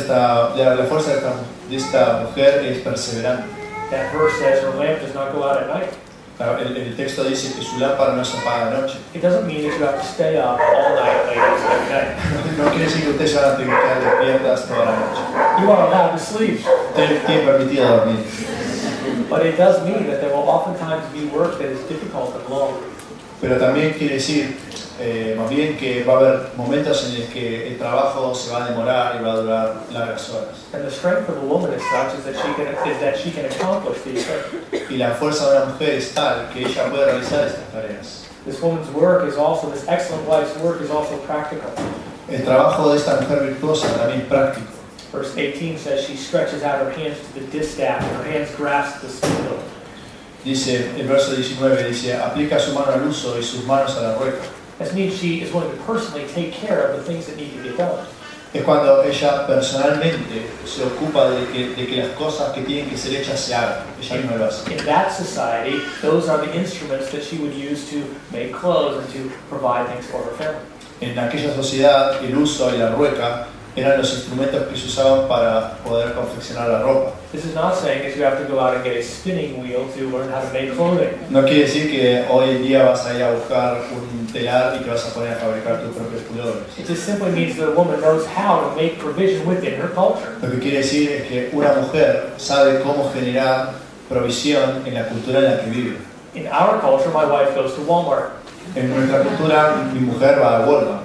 fuerza de esta mujer es perseverante. That verse says her lamp does not go out at night. El texto dice que su lámpara no se apaga de noche. It doesn't mean that you have to stay up all night late every night. No quiere decir que ustedes van a tener que estar despiertas toda la noche. You are allowed to sleep. Ustedes tienen permitido dormir. But it does mean that there will oftentimes be work that is difficult and long. Pero también quiere decir, más bien, que va a haber momentos en los que el trabajo se va a demorar y va a durar largas horas. And the strength of a woman is such is that she can accomplish these things. Y la fuerza de una mujer es tal que ella puede realizar estas tareas. This woman's work is also, this excellent wife's work is also practical. El trabajo de esta mujer virtuosa también es práctico. Verse 18 says she stretches out her hands to the distaff and her hands grasp the spindle. Dice, el verso 19 dice, aplica su mano al uso y sus manos a la rueca. This means she is going to personally take care of the things that need to get done. Es cuando ella personalmente se ocupa de que las cosas que tienen que ser hechas se hagan. Ella misma lo hace. In that society, those are the instruments that she would use to make clothes and to provide things for her family. En aquella sociedad, el uso y la rueca eran los instrumentos que se usaban para poder confeccionar la ropa. This is not saying that you have to go out and get a spinning wheel to learn how to make clothing. No quiere decir que hoy en día vas a ir a buscar un telar y te vas a poner a fabricar tus propios pullovers. It just simply means that a woman knows how to make provision within her culture. Lo que quiere decir es que una mujer sabe cómo generar provisión en la cultura en la que vive. In our culture, my wife goes to Walmart En nuestra cultura, mi mujer va a Walmart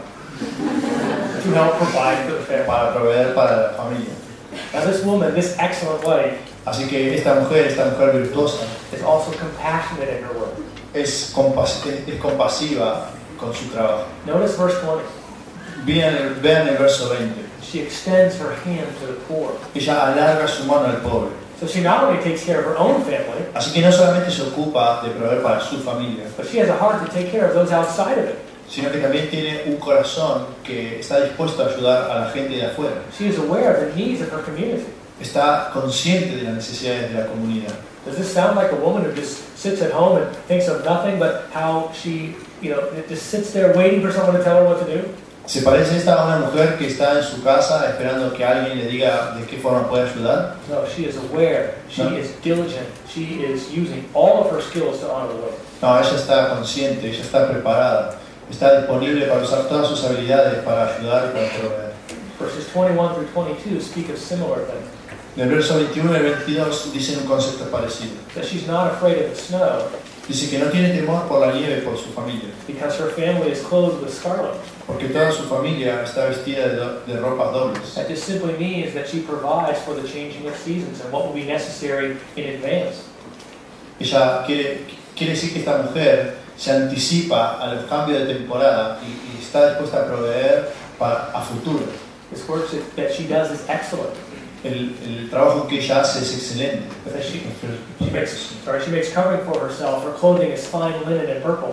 to help provide for the family. para proveer para la familia. Now this woman, this excellent wife, Así que esta mujer virtuosa, is also compassionate in her work. es compasiva con su trabajo. Notice verse 20. Vean el verso 20. She extends her hand to the poor. Ella alarga su mano al pobre. So she not only takes care of her own family, Así que no solamente se ocupa de proveer para su familia, but she has a heart to take care of those outside of it. sino que también tiene un corazón que está dispuesto a ayudar a la gente de afuera. She is aware of the needs of her community. Está consciente de las necesidades de la comunidad. Does this sound like a woman who just sits at home and thinks of nothing but how she, just sits there waiting for someone to tell her what to do? ¿Se parece esta a una mujer que está en su casa esperando que alguien le diga de qué forma puede ayudar? No, she is aware. She No. is diligent. She is using all of her skills to honor the Lord. No, ella está consciente, ella está preparada, está disponible para usar todas sus habilidades para ayudar y para proveer. Verses 21 through 22 speak of similar things. En el verso 21 y 22 dicen un concepto parecido. That she's not afraid of the snow Dice que no tiene temor por la nieve por su familia, because her family is clothed with scarlet. porque toda su familia está vestida de ropas dobles. That just simply means that she provides for the changing of seasons and what will be necessary in advance. Ella quiere decir que esta mujer se anticipa a los cambios de temporada y está dispuesta a proveer a futuro. This work that she does is excellent. El trabajo que ella hace es excelente. That she makes covering for herself. Her clothing is fine linen and purple.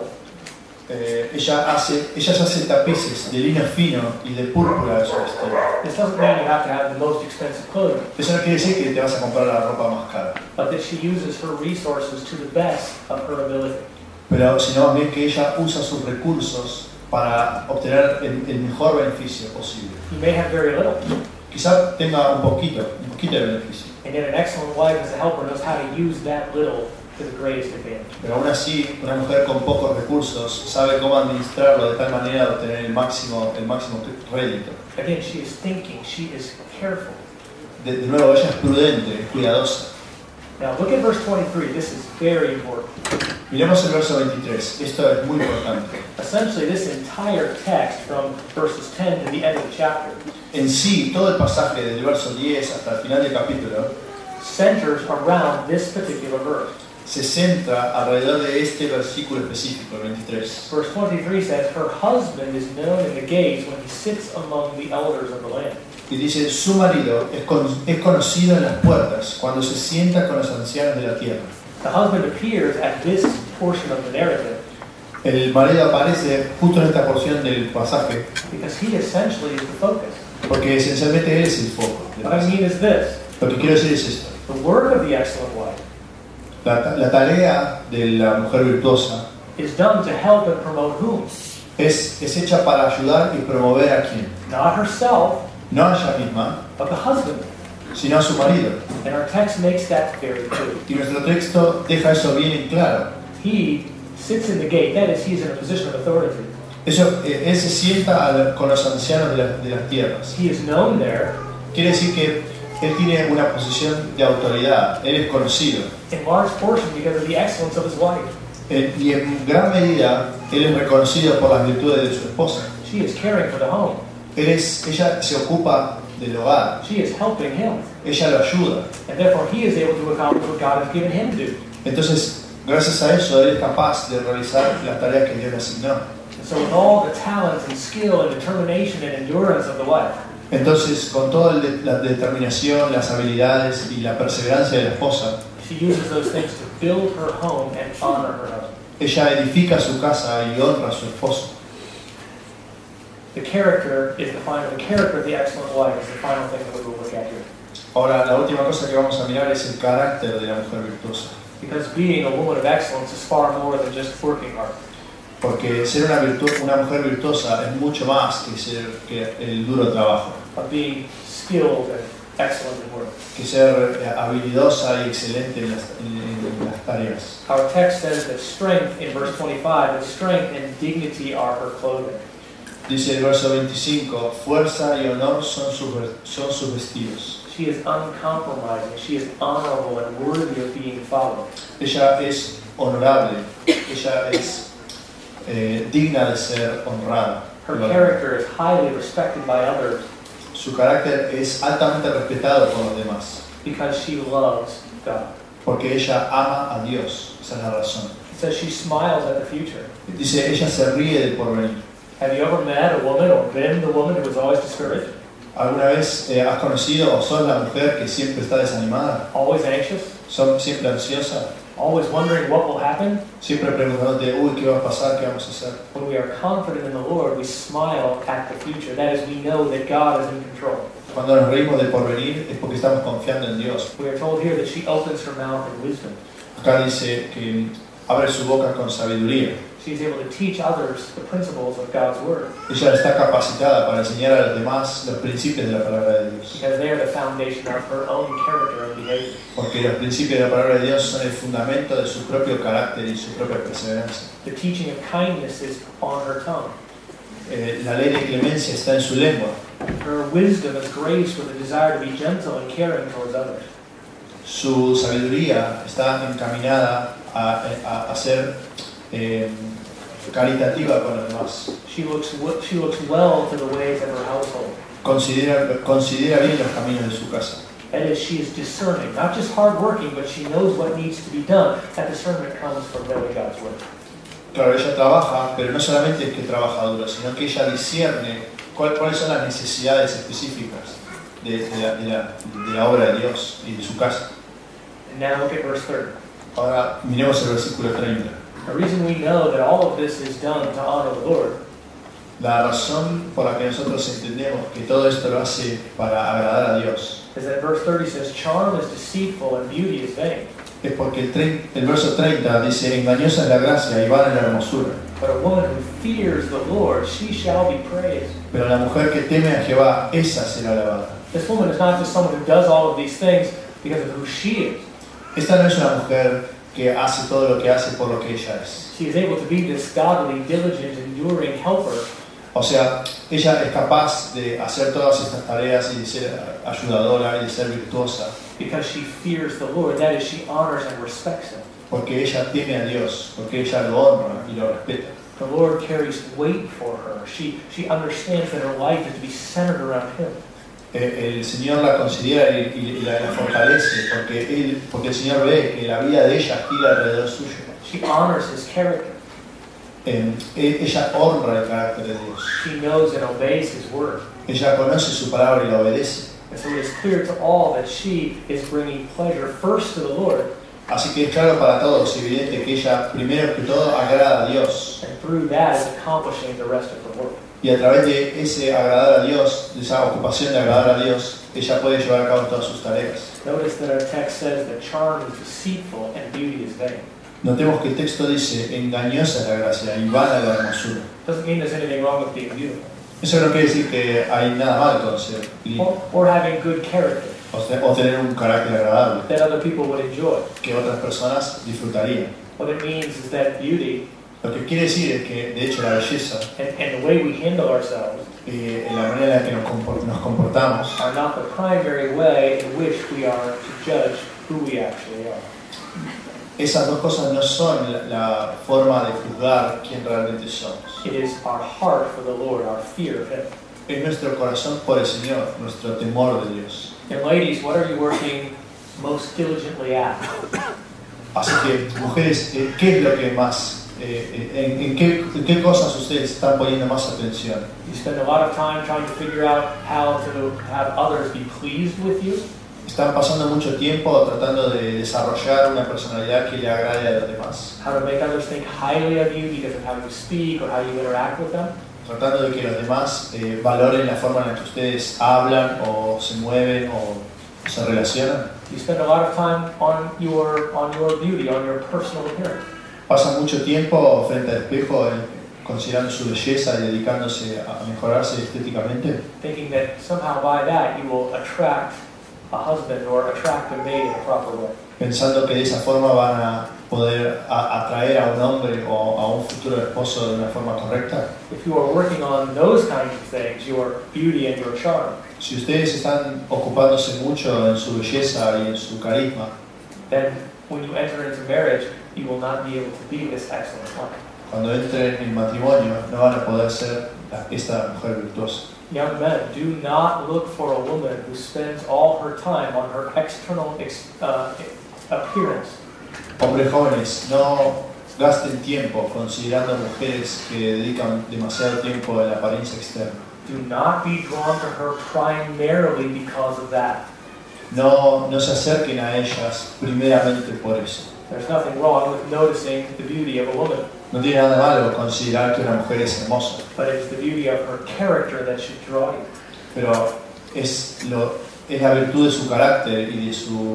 Ella se hace tapices de lino fino y de púrpura de su vestido. This doesn't mean you have to have the most expensive clothing, Eso no quiere decir que te vas a comprar la ropa más cara, but that she uses her resources to the best of her ability. pero sino más bien que ella usa sus recursos para obtener el mejor beneficio posible. You may have very little, Quizá tenga un poquito de beneficio, and yet an excellent wife as a helper knows how to use that little to the greatest advantage. pero aún así una mujer con pocos recursos sabe cómo administrarlo de tal manera de obtener el máximo rédito. Again, she is thinking, she is careful. De nuevo, ella es prudente, es cuidadosa. Now look at verse 23. This is very important. Miremos el verso 23, esto es muy importante. Essentially, this entire text from verses 10 to the end of the chapter En sí, todo el pasaje desde el verso 10 hasta el final del capítulo centers around this particular verse. se centra alrededor de este versículo específico, el 23. Verse 23 says, her husband is known in the gates when he sits among the elders of the land. Y dice, su marido es conocido en las puertas cuando se sienta con los ancianos de la tierra. The husband appears at this portion of the narrative El marido aparece justo en esta porción del pasaje because he essentially is the focus. porque esencialmente él es el foco. What I mean is this: Lo que quiero decir es esto. the work of the excellent wife La tarea de la mujer virtuosa is done to help and promote whom? es hecha para ayudar y promover a quién. Not herself, No a ella misma, but the husband. sino a su marido. And our text makes that very clear. Y nuestro texto deja eso bien en claro. He sits in the gate. That is, he is in a position of authority. Él se sienta con los ancianos de las tierras. He is known there. Quiere decir que él tiene una posición de autoridad, él es conocido. In large portion because of the excellence of his wife. Y en gran medida, él es reconocido por las virtudes de su esposa. She is caring for the home. Ella se ocupa del hogar, She is helping him. ella lo ayuda. And therefore he is able to accomplish what God has given him to do. Entonces, gracias a eso, él es capaz de realizar las tareas que Dios le asignó. And so with all the talent and skill and determination and endurance of the wife, Entonces, con toda la determinación, las habilidades y la perseverancia de la esposa, she uses those things to build her home and honor her husband. ella edifica su casa y honra a su esposo. The character of the excellent wife is the final thing that we will look at here. Ahora, la última cosa que vamos a mirar es el carácter de la mujer virtuosa. Because being a woman of excellence is far more than just working hard. Porque ser una mujer virtuosa es mucho más que el duro trabajo, Of being skilled and excellent in work. que ser habilidosa y excelente en las tareas. Our text says that strength, in verse 25, that strength and dignity are her clothing. Dice el verso 25, fuerza y honor son sus vestidos. She is uncompromising. She is honorable and worthy of being followed. Ella es honorable, ella es digna de ser honrada. Her character is highly respected by others Su carácter es altamente respetado por los demás, because she loves God. porque ella ama a Dios, esa es la razón. It says she smiles at the future. Dice, ella se ríe del porvenir. Have you ever met a woman or been the woman who was always discouraged? ¿Alguna vez has conocido o sos la mujer que siempre está desanimada? Always anxious? Siempre ansiosa? Always wondering what will happen? Siempre preguntándote, uy, ¿qué va a pasar? ¿Qué vamos a hacer? When we are confident in the Lord, we smile at the future. That is, we know that God is in control. Cuando nos reímos del porvenir es porque estamos confiando en Dios. We are told here that she opens her mouth in wisdom. Acá dice que abre su boca con sabiduría. She is able to teach others the principles of God's Word Ella está capacitada para enseñar a los demás los principios de la palabra de Dios. because they are the foundation of her own character and behavior. Porque los principios de la palabra de Dios son el fundamento de su propio carácter y su propia perseverancia. The teaching of kindness is on her tongue. la ley de clemencia está en su lengua. Her wisdom is graced with a desire to be gentle and caring towards others. Su sabiduría está encaminada a ser caritativa con los demás. She looks well to the ways of her household. Considera bien los caminos de su casa. That is, she is discerning, not just hardworking, but she knows what needs to be done. That discernment comes from knowing God's word. Claro, ella trabaja, pero no solamente es que trabaja duro, sino que ella discierne cuáles son las necesidades específicas de la obra de Dios y de su casa. And now look at verse 30. Ahora miremos el versículo 30. The reason we know that all of this is done to honor the Lord La razón por la que nosotros entendemos que todo esto lo hace para agradar a Dios is that verse 30 says, charm is deceitful and beauty is vain. es porque el verso 30 dice: engañosa es la gracia y vana la hermosura. But a woman who fears the Lord, she shall be praised. Pero la mujer que teme a Jehová, esa será alabada. This woman is not just someone who does all of these things because of who she is. Esta no es una mujer que hace todo lo que hace por lo que ella es. She is able to be this godly, diligent, enduring helper. O sea, ella es capaz de hacer todas estas tareas y de ser ayudadora y de ser virtuosa. Because she fears the Lord, that is, she honors and respects Him. Porque ella teme a Dios, porque ella lo honra y lo respeta. The Lord carries weight for her. She understands that her life is to be centered around Him. El Señor la considera y la fortalece porque el Señor ve que la vida de ella gira alrededor suyo. She honors His character. Ella honra el carácter de Dios. She knows and obeys His word. Ella conoce su palabra y la obedece. And so it is clear to all that she is bringing pleasure first to the Lord. Así que es claro para todos, evidente que ella primero que todo agrada a Dios. And through that is accomplishing the rest of her work. Y a través de ese agradar a Dios, de esa ocupación de agradar a Dios, ella puede llevar a cabo todas sus tareas. Notice that our text says that charm is deceitful and beauty is vain. Notemos que el texto dice: engañosa es la gracia y vana la hermosura. Doesn't mean there's anything wrong with being beautiful. Eso no quiere decir que hay nada mal con ser lindo Or having good character o tener un carácter agradable that other people would enjoy. que otras personas disfrutarían. What it means is that beauty Lo que quiere decir es que, de hecho, la belleza and the way we handle ourselves y la manera en la que nos comportamos are not the primary way in which we are to judge who we actually are. esas dos cosas no son la forma de juzgar quién realmente somos. It is our heart for the Lord, our fear of Him. Es nuestro corazón por el Señor, nuestro temor de Dios. And ladies, what are you working most diligently at? Así que, mujeres, ¿qué es lo que más, en qué cosas ustedes están poniendo más atención? You spend a lot of time trying to figure out how to have others be pleased with you. Están pasando mucho tiempo tratando de desarrollar una personalidad que le agrade a los demás. How to make others think highly of you because of how you speak or how you interact with them. Tratando de que los demás valoren la forma en la que ustedes hablan o se mueven o se relacionan. You spend a lot of time on your beauty, on your personal appearance. Pasan mucho tiempo frente al espejo considerando su belleza y dedicándose a mejorarse estéticamente. Thinking that somehow by that you will attract a husband or attract a mate in a proper way. Pensando que de esa forma van a poder atraer a un hombre o a un futuro esposo de una forma correcta. If you are working on those kinds of things, your beauty and your charm, Si ustedes están ocupándose mucho en su belleza y en su carisma, then when you enter into marriage, you will not be able to be this excellent wife. cuando entren en matrimonio no van a poder ser esta mujer virtuosa. Young men, do not look for a woman who spends all her time on her external appearance. Hombres jóvenes, no gasten tiempo considerando mujeres que dedican demasiado tiempo a la apariencia externa. Do not be drawn to her primarily because of that. No se acerquen a ellas primeramente por eso. There's nothing wrong with noticing the beauty of a woman, No tiene nada malo considerar que una mujer es hermosa, but it's the beauty of her character that should draw you. pero es la virtud de su carácter y de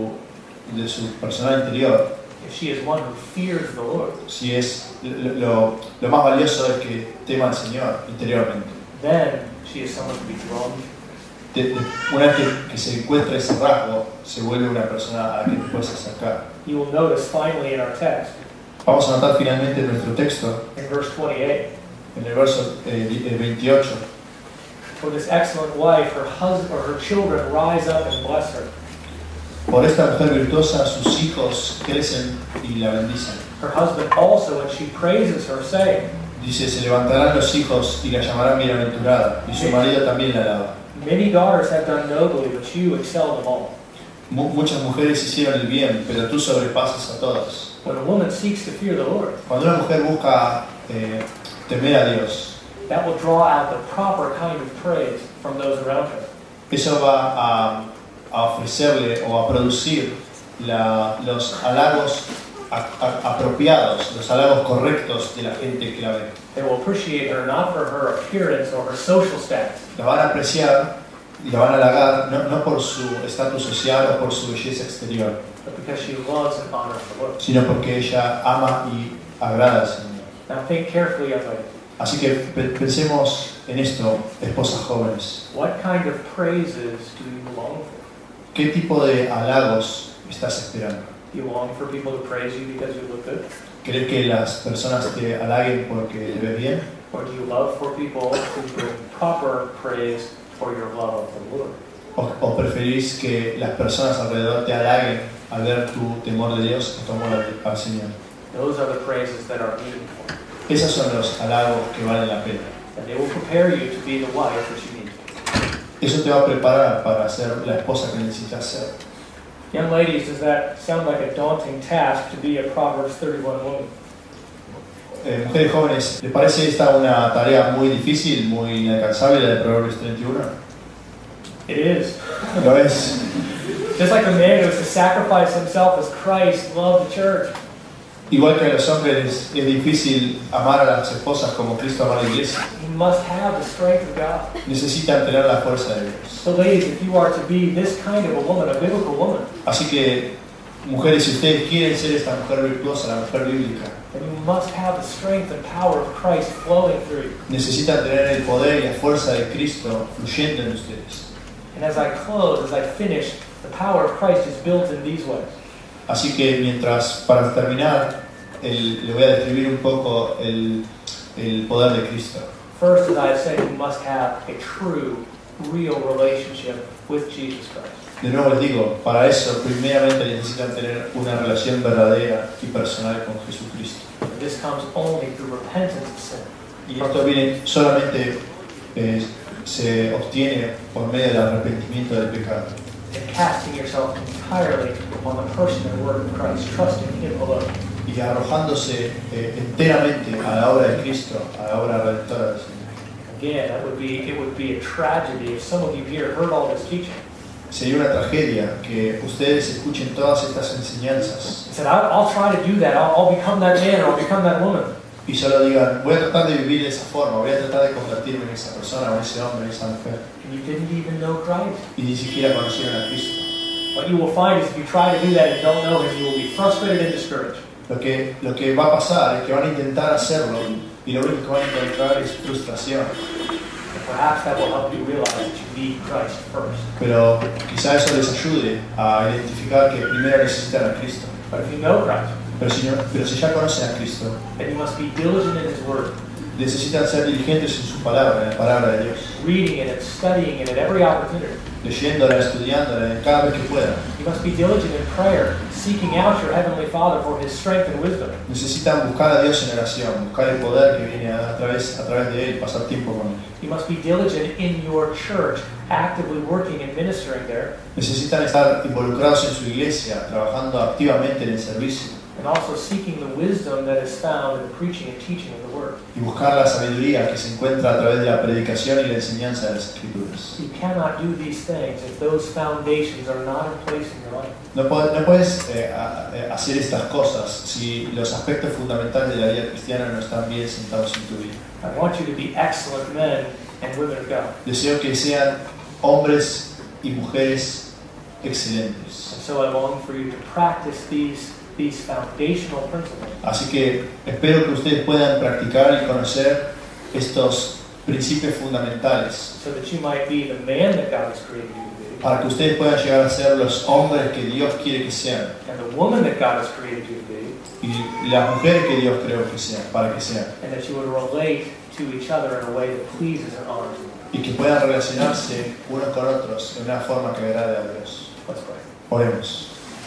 su persona interior. If she is one who fears the Lord, Si es lo más valioso es que tema al Señor interiormente. then she is someone to be drawn to. Una vez que se encuentra ese rasgo, se vuelve una persona a la que te puedes acercar. You will notice finally in our text, Vamos a notar finalmente en nuestro texto, in verse 28, En el verso 28. For this excellent wife, her husband or her children rise up and bless her. Por esta mujer virtuosa, sus hijos crecen y la bendicen. Her husband also, when she praises her, saying, Dice, se levantarán los hijos y la llamarán bienaventurada, y su marido también la alaba. many daughters have done nobly, but you excel them all. Muchas mujeres hicieron el bien, pero tú sobrepasas a todas. When a woman seeks to fear the Lord, Cuando una mujer busca temer a Dios, that will draw out the proper kind of praise from those around her. eso va a ofrecerle o a producir los halagos apropiados, los halagos correctos de la gente que la ve. They will appreciate her not for her appearance or her social status, La van a apreciar y la van a halagar no por su estatus social o por su belleza exterior, but because she loves and honors the Lord. sino porque ella ama y agrada al Señor. Now think carefully, young lady. Así que pensemos en esto, esposas jóvenes. What kind of praises do you long for? ¿Qué tipo de halagos estás esperando? Do you long for people to praise you because you look good? ¿Crees que las personas te halaguen porque te ves bien? Or do you love for people to bring proper praise for your love of the Lord? ¿O preferís que las personas alrededor te halaguen al ver tu temor de Dios y tu amor al Señor? Those are the praises that are meaningful. Esos son los halagos que valen la pena. And they will prepare you to be the wife that you need. Eso te va a preparar para ser la esposa que necesitas ser. Young ladies, does that sound like a daunting task to be a Proverbs 31 woman? Mujeres jóvenes, ¿les parece esta una tarea muy difícil, muy inalcanzable, la de Proverbios 31? It is. Lo es. Just like the man who was to sacrifice himself as Christ loved the church. Igual que a los hombres es difícil amar a las esposas como Cristo ama a la iglesia. You must have the strength of God. Necesitan tener la fuerza de Dios. So ladies, if you are to be this kind of a woman, a biblical woman, Así que, mujeres, si ustedes quieren ser esta mujer virtuosa, la mujer bíblica, then you must have the strength and power of Christ flowing through you. necesitan tener el poder y la fuerza de Cristo fluyendo en ustedes. And as I close, as I finish, the power of Christ is built in these ways. Así que mientras, para terminar, le voy a describir un poco el poder de Cristo. First, as I said, you must have a true, real relationship with Jesus Christ. De nuevo les digo, para eso primeramente necesitan tener una relación verdadera y personal con Jesucristo. And this comes only through repentance of sin. Y esto viene solamente, se obtiene por medio del arrepentimiento del pecado. And casting yourself entirely on the person and work of Christ, trusting Him alone. Y arrojándose enteramente a la obra de Cristo, a la obra redentora del Señor. Again, it would be a tragedy if some of you here heard all this teaching. Sería una tragedia que ustedes escuchen todas estas enseñanzas and said, I'll try to do that. I'll become that man or I'll become that woman. y solo digan, voy a tratar de vivir de esa forma, voy a tratar de convertirme en esa persona, o en ese hombre, en esa mujer. And you didn't even know Christ. Y ni siquiera conocieron a Cristo. What you will find is if you try to do that and don't know Him, you will be frustrated and discouraged. Lo que va a pasar es que van a intentar hacerlo y lo único que van a encontrar es frustración. And perhaps that will help you realize that you need Christ first. Pero quizá eso les ayude a identificar que primero necesitan a Cristo. But if you know Christ, Pero si ya conocen a Cristo, then you must be diligent in His Word, necesitan ser diligentes en su palabra, en la palabra de Dios. reading it and studying it at every opportunity. Leyéndola, estudiándola, cada vez que puedan. You must be diligent in prayer, seeking out your Heavenly Father for His strength and wisdom. Necesitan buscar a Dios en oración, buscar el poder que viene a través de Él, pasar tiempo con Él. You must be diligent in your church, actively working and ministering there, Necesitan estar involucrados en su iglesia, trabajando activamente en el servicio and also seeking the wisdom that is found in the preaching and teaching of the Word. y buscar la sabiduría que se encuentra a través de la predicación y la enseñanza de las Escrituras. You cannot do these things if those foundations are not in place in your life. No puedes hacer estas cosas si los aspectos fundamentales de la vida cristiana no están bien sentados en tu vida. I want you to be excellent men and women of God. Deseo que sean hombres y mujeres excelentes. And so I long for you to practice these foundational principles. Así que espero que ustedes puedan practicar y conocer estos principios fundamentales So that you might be the man that God has created you to be, para que ustedes puedan llegar a ser los hombres que Dios quiere que sean and the woman that God has created you to be, y las mujeres que Dios creó que sean, para que sean, and that you would relate to each other in a way that pleases and honors you. y que puedan relacionarse unos con otros de una forma que agrade a Dios. Let's pray. Oremos.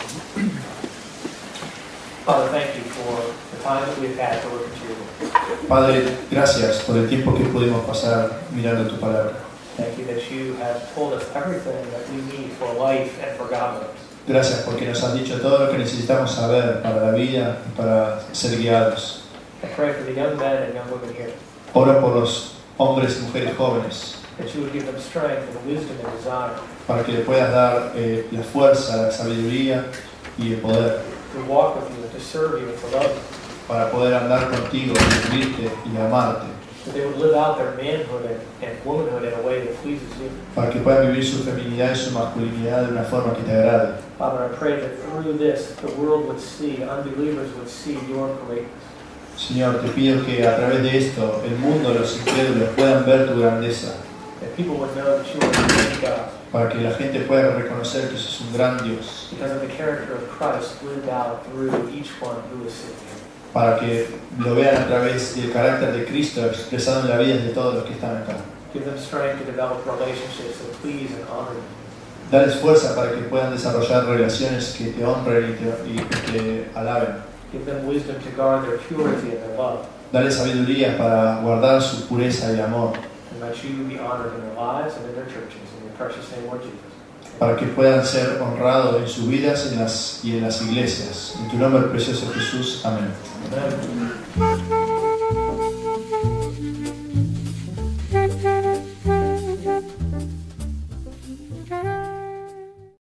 Father, thank you for the time that we've had to look at your word. Padre, gracias por el tiempo que pudimos pasar mirando tu palabra. Thank you that you have told us everything that we need for life and for godliness. Gracias porque nos has dicho todo lo que necesitamos saber para la vida y para ser guiados. I pray for the young men and young women here, Oro por los hombres y mujeres jóvenes, that you would give them strength and wisdom and desire para que le puedas dar la fuerza, la sabiduría y el poder, to walk with you and to serve you and to love you, para poder andar contigo, servirte y amarte, that they would live out their manhood and womanhood in a way that pleases you. para que puedan vivir su feminidad y su masculinidad de una forma que te agrade. Father, I pray that through this, the world would see, unbelievers would see your greatness. Señor, te pido que a través de esto el mundo, los incrédulos puedan ver tu grandeza, That people would know that you are a great God para que la gente pueda reconocer que sos un gran Dios, because of the character of Christ lived out through each one who is sitting here. para que lo vean a través del carácter de Cristo expresado en la vida de todos los que están acá. Give them strength to develop relationships that please and honor you. Dales fuerza para que puedan desarrollar relaciones que te honren y que te alaben. Give them wisdom to guard their purity and their love. Dale sabiduría para guardar su pureza y amor, And let you be honored in their lives and in their churches. In your precious name, Lord Jesus. para que puedan ser honrados en sus vidas y en las iglesias. En tu nombre precioso Jesús. Amén. Amen.